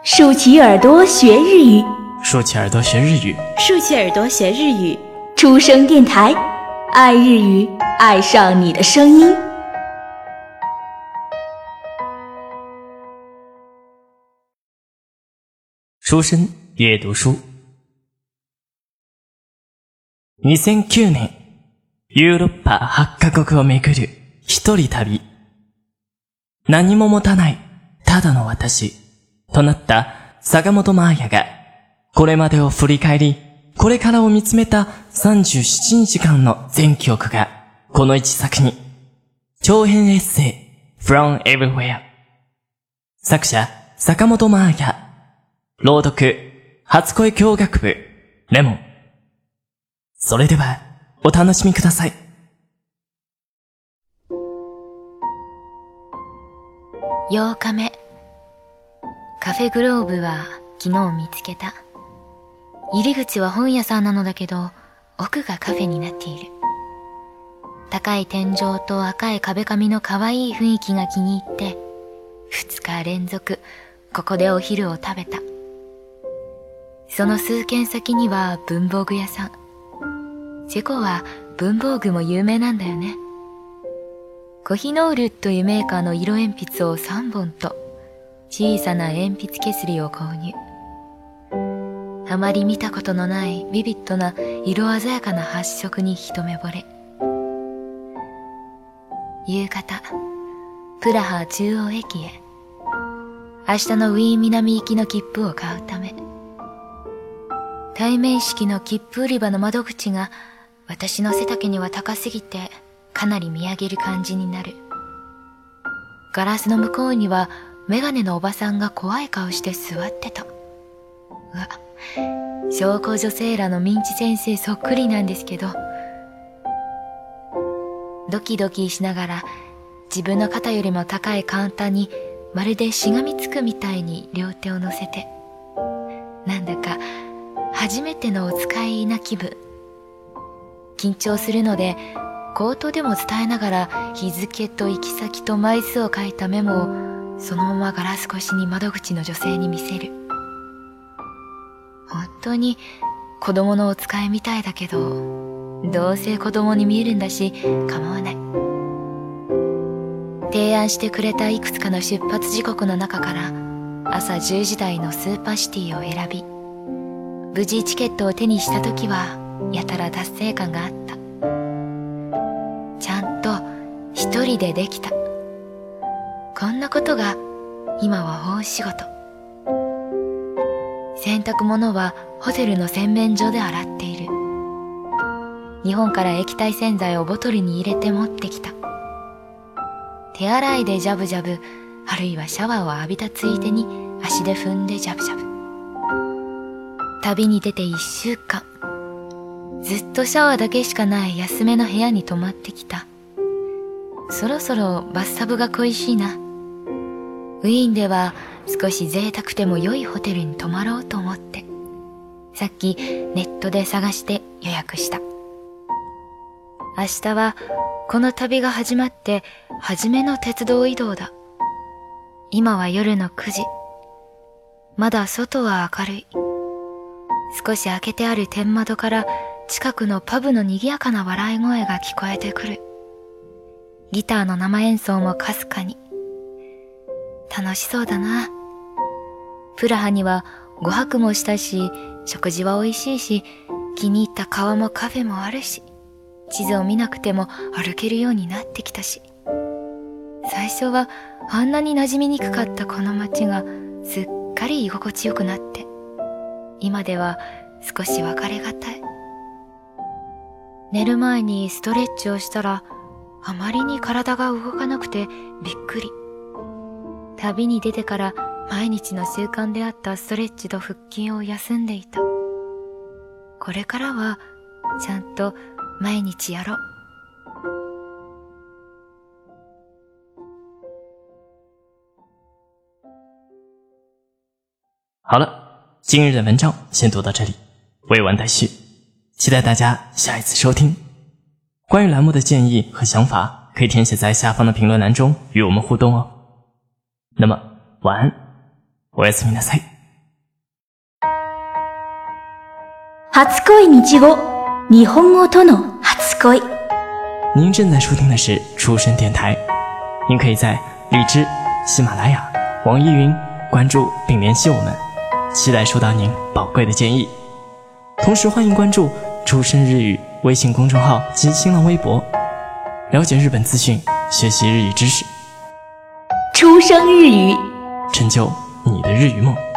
竖起耳朵学日语， 竖起耳朵学日语， 竖起耳朵学日语。 出生电台，爱日语，爱上你的声音。 书生阅读书。2009年、ヨーロッパ8カ国を巡る一人旅。何も持たない、ただの私、となった坂本真綾が、これまでを振り返り、これからを見つめた37日間の全記憶が、この一作に、長編エッセイ、From Everywhere。作者、坂本真綾。朗読、初恋教学部、レモン。それでは、お楽しみください。 8日目。カフェグローブは昨日見つけた。入り口は本屋さんなのだけど、奥がカフェになっている。高い天井と赤い壁紙の可愛い雰囲気が気に入って、2日連続ここでお昼を食べた。その数軒先には文房具屋さん。チェコは文房具も有名なんだよね。コヒノールというメーカーの色鉛筆を3本と小さな鉛筆削りを購入。あまり見たことのないビビッドな色鮮やかな発色に一目惚れ。夕方、プラハ中央駅へ。明日のウィーン南行きの切符を買うため。対面式の切符売り場の窓口が私の背丈には高すぎてかなり見上げる感じになる。ガラスの向こうにはメガネのおばさんが怖い顔して座ってた。うわ、小公女セーラーのミンチ先生そっくりなんですけど、ドキドキしながら自分の肩よりも高いカウンターにまるでしがみつくみたいに両手を乗せて、なんだか初めてのお使いな気分。緊張するので口頭でも伝えながら日付と行き先と枚数を書いたメモをそのままガラス越しに窓口の女性に見せる。本当に子供のお使いみたいだけど、どうせ子供に見えるんだし構わない。提案してくれたいくつかの出発時刻の中から朝10時台のスーパーシティを選び、無事チケットを手にした時はやたら達成感があった。ちゃんと一人でできた。こんなことが今は大仕事。洗濯物はホテルの洗面所で洗っている。日本から液体洗剤をボトルに入れて持ってきた。手洗いでジャブジャブ、あるいはシャワーを浴びたついでに足で踏んでジャブジャブ。旅に出て1週間、ずっとシャワーだけしかない安めの部屋に泊まってきた。そろそろバスタブが恋しいな。ウィーンでは少し贅沢でも良いホテルに泊まろうと思って、さっきネットで探して予約した。明日はこの旅が始まって初めの鉄道移動だ。今は夜の9時。まだ外は明るい。少し開けてある天窓から近くのパブの賑やかな笑い声が聞こえてくる。ギターの生演奏もかすかに。楽しそうだな。プラハには5泊もしたし、食事は美味しいし、気に入った川もカフェもあるし、地図を見なくても歩けるようになってきたし。最初はあんなに馴染みにくかったこの街がすっかり居心地よくなって、今では少し別れがたい。寝る前にストレッチをしたら、あまりに体が動かなくてびっくり。旅に出てから毎日の習慣であったストレッチと腹筋を休んでいた。これからはちゃんと毎日やろう。 好了，今日的文章先读到这里，未完待续，期待大家下一次收听。关于栏目的建议和想法，可以填写在下方的评论栏中与我们互动哦。那么晚安，おやすみなさい。 初恋日語、日本語との初恋。 您正在收听的是出生电台，您可以在荔枝、喜马拉雅、网易云关注并联系我们，期待收到您宝贵的建议。同时欢迎关注出生日语微信公众号及新浪微博，了解日本资讯，学习日语知识， 出生日语， 成就你的日语梦。